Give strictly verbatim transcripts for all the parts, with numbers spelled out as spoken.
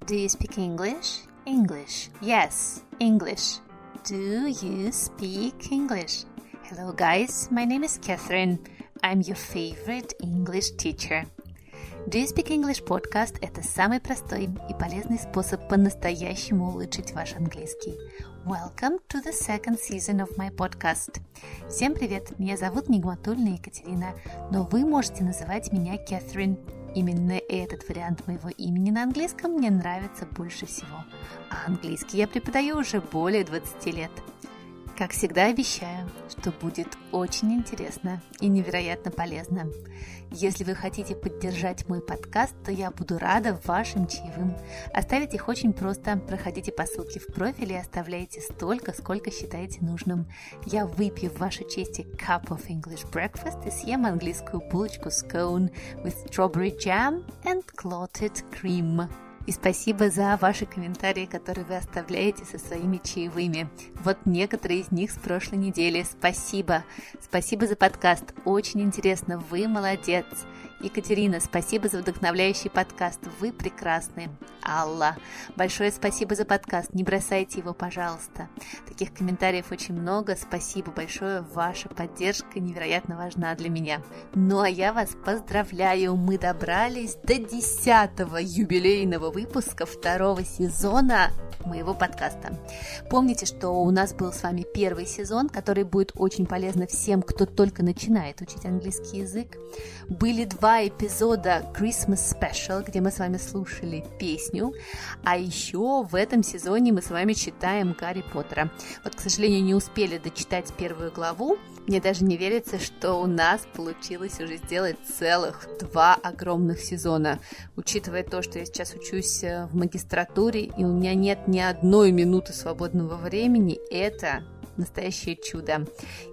Do you speak English? English. Yes, English. Do you speak English? Hello guys, my name is Catherine. I'm your favorite English teacher. Do you speak English podcast – это самый простой и полезный способ по-настоящему улучшить ваш английский. Welcome to the second season of my podcast. Всем привет, меня зовут Нигматульна Екатерина, но вы можете называть меня Catherine. Именно этот вариант моего имени на английском мне нравится больше всего. А английский я преподаю уже более двадцати лет. Как всегда обещаю, что будет очень интересно и невероятно полезно. Если вы хотите поддержать мой подкаст, то я буду рада вашим чаевым. Оставить их очень просто. Проходите по ссылке в профиле и оставляйте столько, сколько считаете нужным. Я выпью в вашей честь cup of English breakfast и съем английскую булочку scone with strawberry jam and clotted cream. И спасибо за ваши комментарии, которые вы оставляете со своими чаевыми. Вот некоторые из них с прошлой недели. Спасибо. Спасибо за подкаст. Очень интересно. Вы молодец. Екатерина, спасибо за вдохновляющий подкаст. Вы прекрасны. Алла, большое спасибо за подкаст. Не бросайте его, пожалуйста. Таких комментариев очень много. Спасибо большое. Ваша поддержка невероятно важна для меня. Ну а я вас поздравляю. Мы добрались до десятого юбилейного выпуска второго сезона моего подкаста. Помните, что у нас был с вами первый сезон, который будет очень полезно всем, кто только начинает учить английский язык. Были два эпизода Christmas Special, где мы с вами слушали песню, а еще в этом сезоне мы с вами читаем Гарри Поттера. Вот, к сожалению, не успели дочитать первую главу. Мне даже не верится, что у нас получилось уже сделать целых два огромных сезона. Учитывая то, что я сейчас учусь в магистратуре, и у меня нет ни одной минуты свободного времени, это настоящее чудо.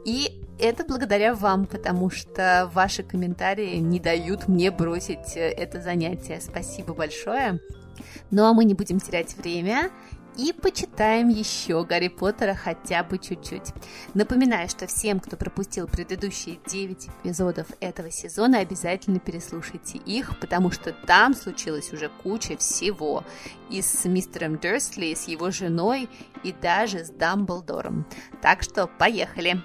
И это благодаря вам, потому что ваши комментарии не дают мне бросить это занятие. Спасибо большое. Ну а мы не будем терять время и почитаем еще Гарри Поттера хотя бы чуть-чуть. Напоминаю, что всем, кто пропустил предыдущие девять эпизодов этого сезона, обязательно переслушайте их, потому что там случилась уже куча всего. И с мистером Дерсли, и с его женой, и даже с Дамблдором. Так что поехали!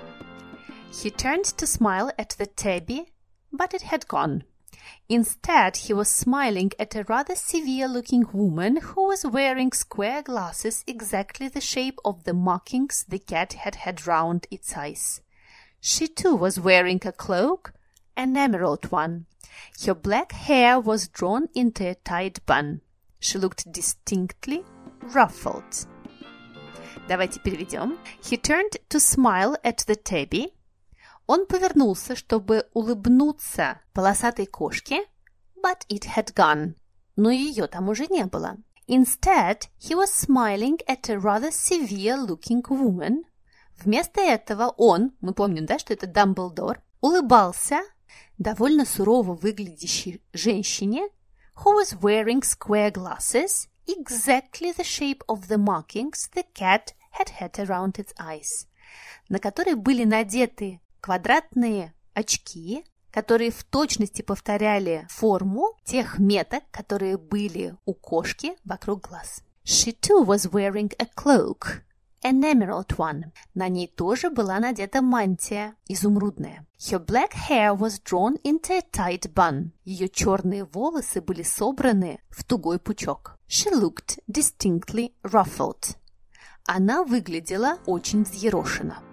He turned to smile at the tabby, but it had gone. Instead, he was smiling at a rather severe-looking woman who was wearing square glasses exactly the shape of the markings the cat had had round its eyes. She too was wearing a cloak, an emerald one. Her black hair was drawn into a tight bun. She looked distinctly ruffled. Давайте переведем. He turned to smile at the tabby. Он повернулся, чтобы улыбнуться полосатой кошке, but it had gone. Но ее там уже не было. Instead, he was smiling at a rather severe-looking woman. Вместо этого он, мы помним, да, что это Дамблдор, улыбался довольно сурово выглядящей женщине, who was wearing square glasses, exactly the shape of the markings the cat had had around its eyes, на которой были надеты квадратные очки, которые в точности повторяли форму тех меток, которые были у кошки вокруг глаз. She too was wearing a cloak, an emerald one. На ней тоже была надета мантия, изумрудная. Her black hair was drawn into a tight bun. Ее черные волосы были собраны в тугой пучок. She looked distinctly ruffled. Она выглядела очень взъерошенно.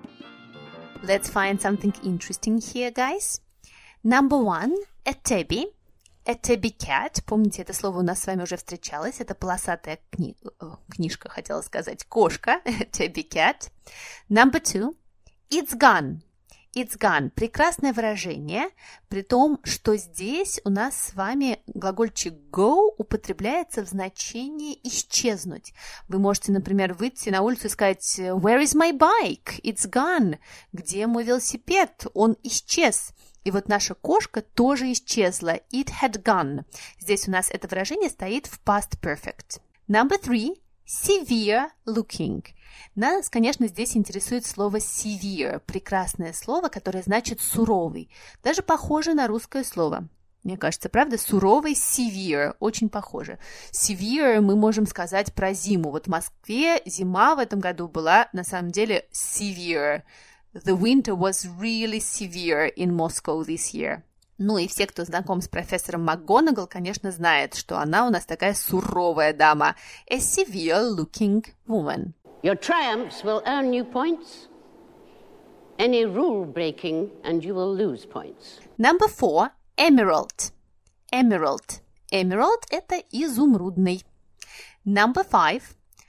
Let's find something interesting here, guys. Number one, a tabby. A tabby cat. Помните, это слово у нас с вами уже встречалось. Это полосатая кни... книжка, хотела сказать, кошка. Tabby cat. Number two, it's gone. It's gone. Прекрасное выражение, при том, что здесь у нас с вами глагольчик go употребляется в значении исчезнуть. Вы можете, например, выйти на улицу и сказать Where is my bike? It's gone. Где мой велосипед? Он исчез. И вот наша кошка тоже исчезла. It had gone. Здесь у нас это выражение стоит в past perfect. Number three. Severe looking. Нас, конечно, здесь интересует слово severe, прекрасное слово, которое значит суровый, даже похоже на русское слово. Мне кажется, правда? Суровый, severe, очень похоже. Severe мы можем сказать про зиму. Вот в Москве зима в этом году была на самом деле severe. The winter was really severe in Moscow this year. Ну и все, кто знаком с профессором МакГонагал, конечно, знает, что она у нас такая суровая дама. A severe-looking woman. Your triumphs will earn you points. Any rule breaking and you will lose points. Number four. Emerald. Emerald. Emerald – это изумрудный. Number five.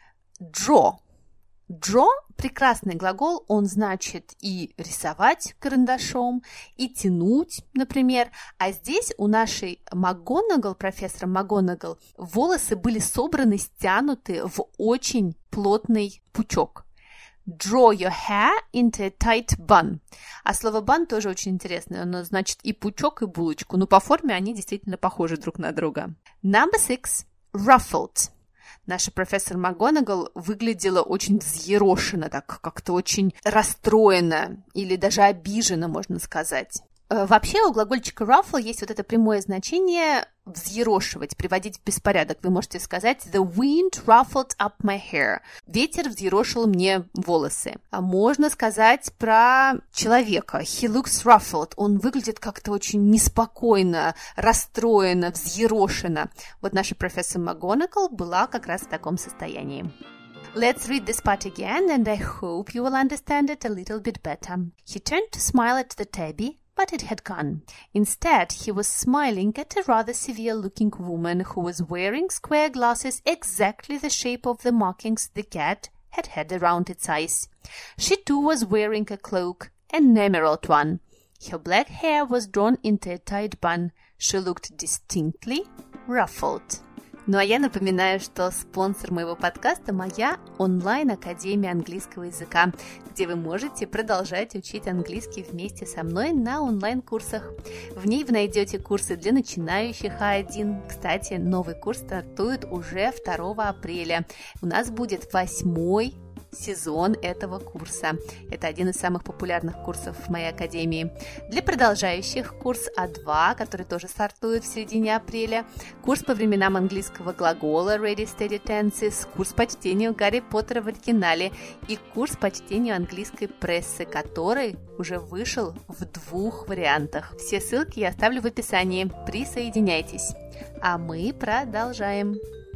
Draw. Draw – прекрасный глагол, он значит и рисовать карандашом, и тянуть, например. А здесь у нашей МакГонагал, профессора МакГонагал, волосы были собраны, стянуты в очень плотный пучок. Draw your hair into a tight bun. А слово bun тоже очень интересное, оно значит и пучок, и булочку, но по форме они действительно похожи друг на друга. Number six. Ruffled. Наша профессор МакГонагал выглядела очень взъерошенно, так как-то очень расстроена или даже обижена, можно сказать. Вообще у глагольчика ruffle есть вот это прямое значение взъерошивать, приводить в беспорядок. Вы можете сказать the wind ruffled up my hair. Ветер взъерошил мне волосы. А можно сказать про человека. He looks ruffled. Он выглядит как-то очень неспокойно, расстроенно, взъерошенно. Вот наша профессор МакГонагал была как раз в таком состоянии. Let's read this part again, and I hope you will understand it a little bit better. He turned to smile at the tabby, but it had gone. Instead, he was smiling at a rather severe-looking woman who was wearing square glasses exactly the shape of the markings the cat had had around its eyes. She too was wearing a cloak, an emerald one. Her black hair was drawn into a tight bun. She looked distinctly ruffled. Ну а я напоминаю, что спонсор моего подкаста – моя онлайн-академия английского языка, где вы можете продолжать учить английский вместе со мной на онлайн-курсах. В ней вы найдете курсы для начинающих А один. Кстати, новый курс стартует уже второго апреля. У нас будет восьмой сезон этого курса. Это один из самых популярных курсов в моей академии. Для продолжающих курс А два, который тоже стартует в середине апреля, курс по временам английского глагола Ready Steady Tenses, курс по чтению Гарри Поттера в оригинале и курс по чтению английской прессы, который уже вышел в двух вариантах. Все ссылки я оставлю в описании. Присоединяйтесь. А мы продолжаем.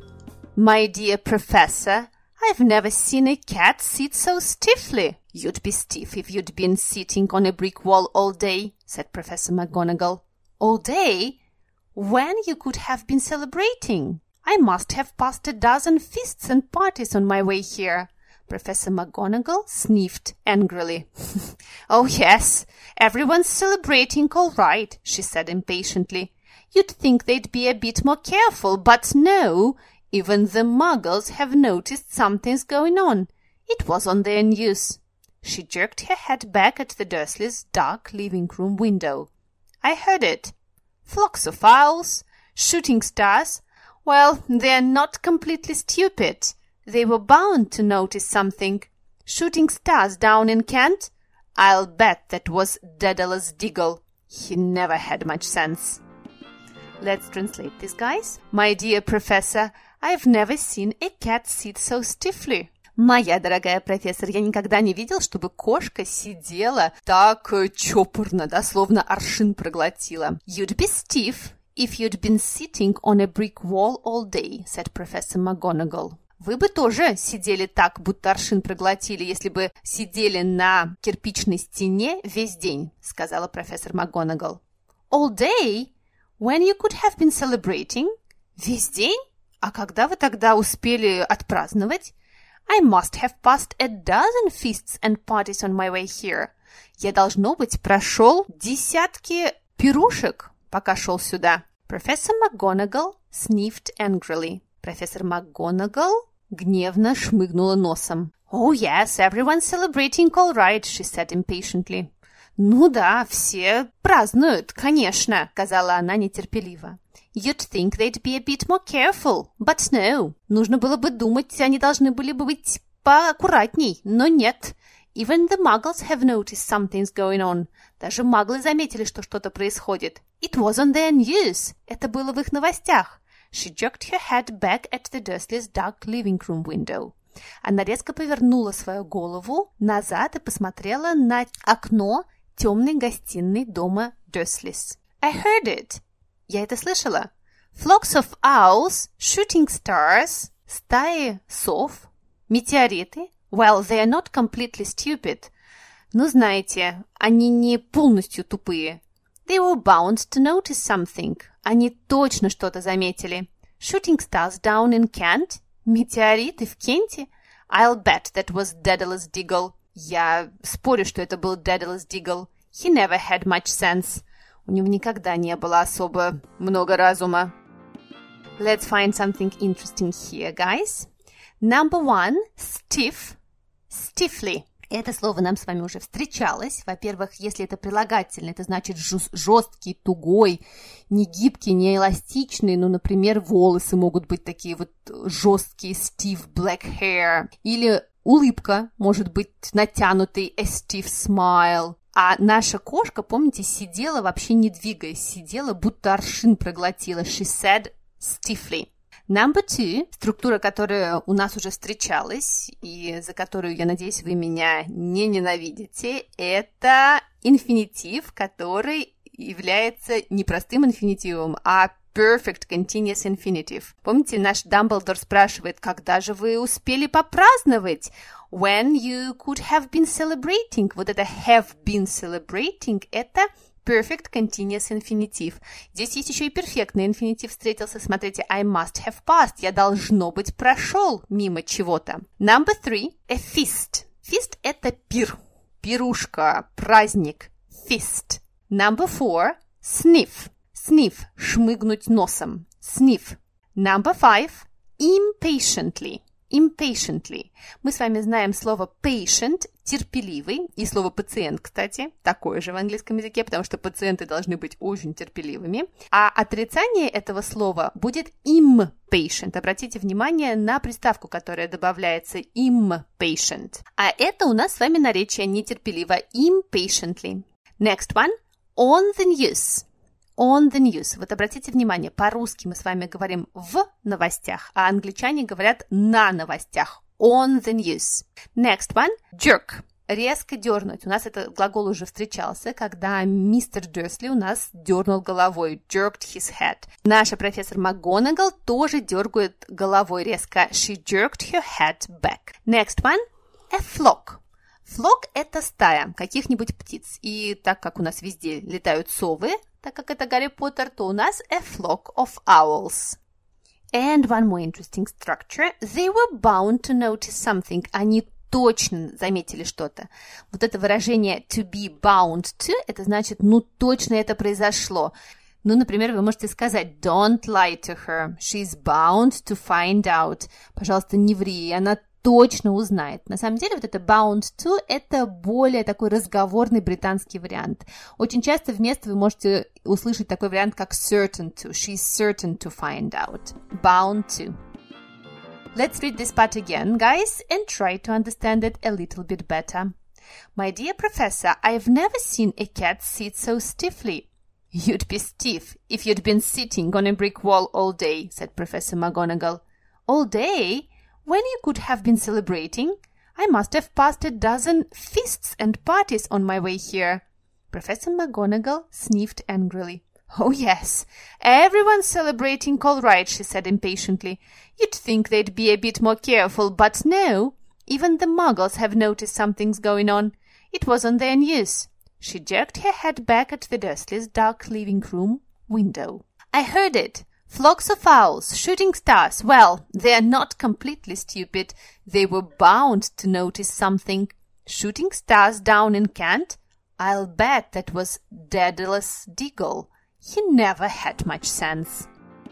My dear professor, I've never seen a cat sit so stiffly. You'd be stiff if you'd been sitting on a brick wall all day, said Professor McGonagall. All day? When you could have been celebrating? I must have passed a dozen feasts and parties on my way here. Professor McGonagall sniffed angrily. Oh, yes, everyone's celebrating all right, she said impatiently. You'd think they'd be a bit more careful, but no. Even the Muggles have noticed something's going on. It was on their news. She jerked her head back at the Dursleys' dark living room window. I heard it. Flocks of owls, shooting stars. Well, they're not completely stupid. They were bound to notice something. Shooting stars down in Kent? I'll bet that was Daedalus Diggle. He never had much sense. Let's translate this, guys. My dear professor, I've never seen a cat sit so stiffly. Моя дорогая профессор, я никогда не видел, чтобы кошка сидела так чопорно, да, словно аршин проглотила. You'd be stiff if you'd been sitting on a brick wall all day, said Professor McGonagall. Вы бы тоже сидели так, будто аршин проглотили, если бы сидели на кирпичной стене весь день, сказала профессор МакГонагал. All day? When you could have been celebrating? Весь день? А когда вы тогда успели отпраздновать? I must have passed a dozen feasts and parties on my way here. Я, должно быть, прошел десятки пирушек, пока шел сюда. Professor McGonagall sniffed angrily. Профессор МакГонагал гневно шмыгнула носом. Oh, yes, everyone's celebrating all right, she said impatiently. Ну да, все празднуют, конечно, сказала она нетерпеливо. You'd think they'd be a bit more careful, but no. Нужно было бы думать, они должны были бы быть поаккуратней, но нет. Even the muggles have noticed something's going on. Даже маглы заметили, что что-то происходит. It was on their news. Это было в их новостях. She jerked her head back at the Dursleys' dark living room window. Она резко повернула свою голову назад и посмотрела на окно темной гостиной дома Dursley's. I heard it. Я это слышала. Flocks of owls, shooting stars, стаи сов, метеориты. Well, they are not completely stupid. Ну, знаете, они не полностью тупые. They were bound to notice something. Они точно что-то заметили. Shooting stars down in Kent? Метеориты в Кенте? I'll bet that was Daedalus Diggle. Я спорю, что это был Daedalus Diggle. He never had much sense. У него никогда не было особо много разума. Let's find something interesting here, guys. Number one, stiff. Stiffly. Это слово нам с вами уже встречалось. Во-первых, если это прилагательное, это значит жесткий, тугой, не гибкий, не эластичный. Ну, например, волосы могут быть такие вот жесткие, stiff black hair. Или улыбка может быть натянутой, a stiff smile. А наша кошка, помните, сидела вообще не двигаясь, сидела, будто аршин проглотила. She said stiffly. Number two, структура, которая у нас уже встречалась, и за которую, я надеюсь, вы меня не ненавидите, это инфинитив, который является не простым инфинитивом, а perfect continuous infinitive. Помните, наш Дамблдор спрашивает, когда же вы успели попраздновать? When you could have been celebrating. Вот это have been celebrating, это perfect continuous infinitive. Здесь есть еще и перфектный инфинитив встретился. Смотрите, I must have passed. Я, должно быть, прошел мимо чего-то. Number three, a feast. Feast – это пир, пирушка, праздник. Feast. Number four, sniff. Sniff – шмыгнуть носом. Sniff. Number five, impatiently. Impatiently. Мы с вами знаем слово patient – терпеливый, и слово пациент, кстати, такое же в английском языке, потому что пациенты должны быть очень терпеливыми. А отрицание этого слова будет impatient. Обратите внимание на приставку, которая добавляется impatient. А это у нас с вами наречие нетерпеливо. Impatiently. Next one. On the news. On the news. Вот обратите внимание, по-русски мы с вами говорим в новостях, а англичане говорят на новостях. On the news. Next one. Jerk. Резко дернуть. У нас этот глагол уже встречался, когда мистер Дерсли у нас дернул головой. Jerked his head. Наша профессор МакГонагал тоже дергает головой резко. She jerked her head back. Next one. A flock. Flock – это стая каких-нибудь птиц. И так как у нас везде летают совы, так как это Гарри Поттер, то у нас a flock of owls. And one more interesting structure. They were bound to notice something. Они точно заметили что-то. Вот это выражение to be bound to, это значит, ну точно это произошло. Ну, например, вы можете сказать don't lie to her. She's bound to find out. Пожалуйста, не ври, она точно узнает. На самом деле, вот это bound to – это более такой разговорный британский вариант. Очень часто вместо вы можете услышать такой вариант, как certain to. She's certain to find out. Bound to. Let's read this part again, guys, and try to understand it a little bit better. My dear professor, I've never seen a cat sit so stiffly. You'd be stiff if you'd been sitting on a brick wall all day, said Professor McGonagall. All day? When you could have been celebrating? I must have passed a dozen feasts and parties on my way here. Professor McGonagall sniffed angrily. Oh, yes, everyone's celebrating all right, she said impatiently. You'd think they'd be a bit more careful, but no. Even the muggles have noticed something's going on. It was on their news. She jerked her head back at the Dursleys' dark living room window. I heard it. Flocks of owls, shooting stars. Well, they're not completely stupid. They were bound to notice something. Shooting stars down in Kent? I'll bet that was Daedalus Diggle. He never had much sense.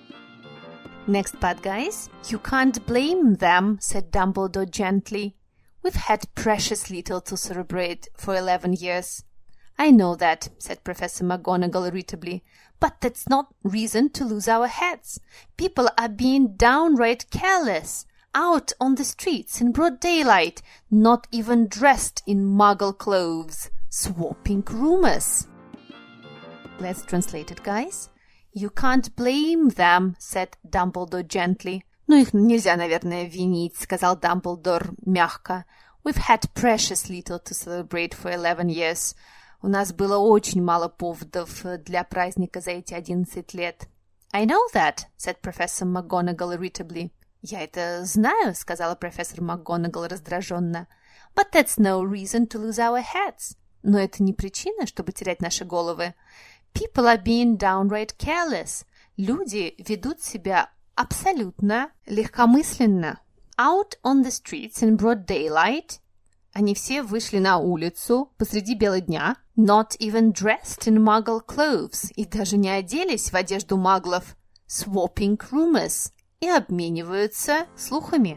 Next part, guys. You can't blame them, said Dumbledore gently. We've had precious little to celebrate for eleven years. I know that, said Professor McGonagall irritably, but that's not reason to lose our heads. People are being downright careless. out on the streets in broad daylight, not even dressed in muggle clothes, swapping rumors. Let's translate it, guys. You can't blame them, said Dumbledore gently. Ну, их нельзя, наверное, винить, сказал Дамблдор мягко. We've had precious little to celebrate for eleven years. У нас было очень мало поводов для праздника за эти одиннадцать лет. I know that, said Professor McGonagall irritably. Я это знаю, сказала профессор МакГонагал раздраженно. But that's no reason to lose our heads. Но это не причина, чтобы терять наши головы. People are being downright careless. Люди ведут себя абсолютно легкомысленно. Out on the streets in broad daylight. Они все вышли на улицу посреди бела дня. Not even dressed in muggle clothes. И даже не оделись в одежду маглов. Swapping rumors. И обмениваются слухами.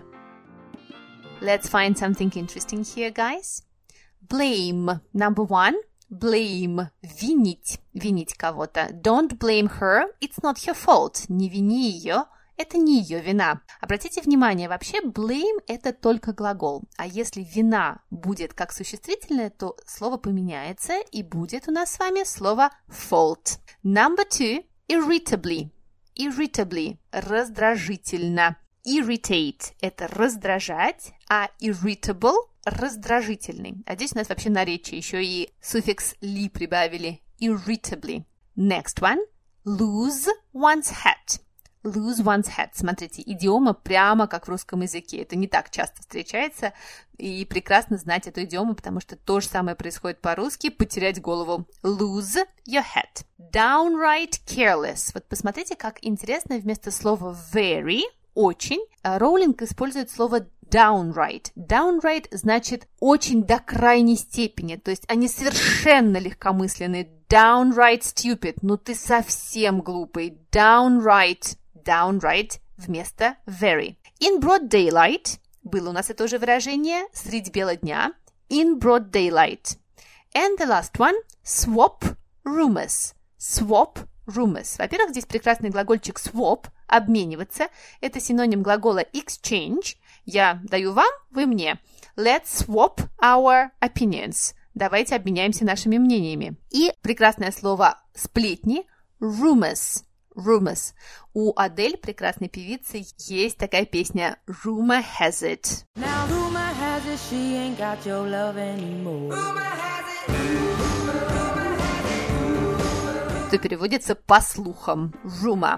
Let's find something interesting here, guys. Blame. Number one. Blame. Винить. Винить кого-то. Don't blame her. It's not her fault. Не вини ее. Это не ее вина. Обратите внимание, вообще blame – это только глагол. А если вина будет как существительное, то слово поменяется, и будет у нас с вами слово fault. Number two – irritably. Irritably – раздражительно. Irritate – это раздражать, а irritable – раздражительный. А здесь у нас вообще наречие, еще и суффикс ли прибавили. Irritably. Next one – lose one's hat. Lose one's hat. Смотрите, идиома прямо как в русском языке. Это не так часто встречается. И прекрасно знать эту идиому, потому что то же самое происходит по-русски. Потерять голову. Lose your hat. Downright careless. Вот посмотрите, как интересно вместо слова very, очень, Роулинг использует слово downright. Downright значит очень до крайней степени. То есть они совершенно легкомысленные. Downright stupid. Ну ты совсем глупый. Downright. Downright вместо very. In broad daylight. Было у нас это уже выражение. Средь бела дня. In broad daylight. And the last one. Swap rumors. Swap rumors. Во-первых, здесь прекрасный глагольчик swap. Обмениваться. Это синоним глагола exchange. Я даю вам, вы мне. Let's swap our opinions. Давайте обменяемся нашими мнениями. И прекрасное слово сплетни. Rumors. Rumors. У Адель, прекрасной певицы, есть такая песня Rumor has it. Now rumor has it, she ain't got your love anymore. Rumor has it. Rumor has it. Что переводится по слухам. Rumor.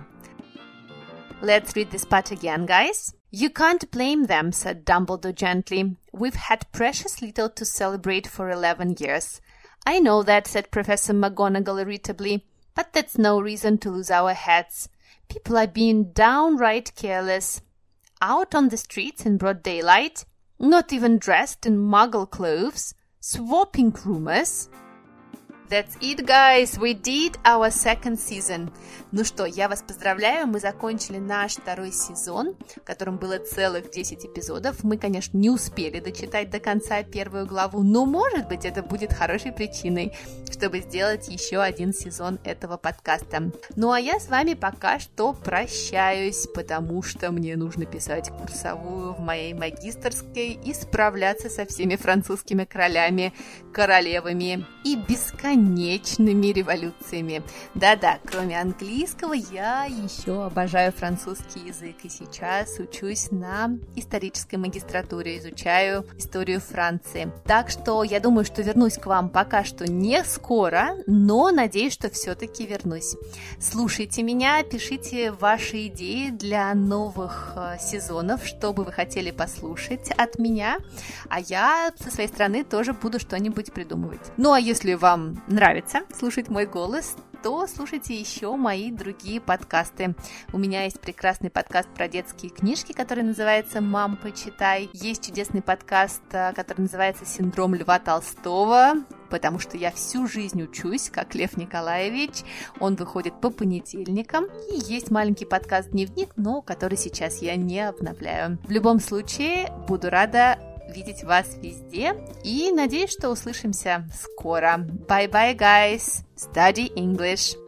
Let's read this part again, guys. You can't blame them, said Dumbledore gently. We've had precious little to celebrate for eleven years. I know that, said Professor McGonagall irritably. But that's no reason to lose our heads. People are being downright careless. Out on the streets in broad daylight, not even dressed in muggle clothes, swapping rumors. That's it, guys. We did our second season. Ну что, я вас поздравляю. Мы закончили наш второй сезон, в котором было целых десять эпизодов. Мы, конечно, не успели дочитать до конца первую главу, но, может быть, это будет хорошей причиной, чтобы сделать еще один сезон этого подкаста. Ну, а я с вами пока что прощаюсь, потому что мне нужно писать курсовую в моей магистерской и справляться со всеми французскими королями, королевами и бесконечными конечными революциями. Да-да, кроме английского, я еще обожаю французский язык, и сейчас учусь на исторической магистратуре, изучаю историю Франции. Так что я думаю, что вернусь к вам пока что не скоро, но надеюсь, что все-таки вернусь. Слушайте меня, пишите ваши идеи для новых э, сезонов, что бы вы хотели послушать от меня, а я со своей стороны тоже буду что-нибудь придумывать. Ну, а если вам нравится слушать мой голос, то слушайте еще мои другие подкасты. У меня есть прекрасный подкаст про детские книжки, который называется «Мам, почитай». Есть чудесный подкаст, который называется «Синдром Льва Толстого», потому что я всю жизнь учусь, как Лев Николаевич. Он выходит по понедельникам. И есть маленький подкаст «Дневник», но который сейчас я не обновляю. В любом случае, буду рада видеть вас везде и надеюсь, что услышимся скоро. Bye-bye, guys! Study English!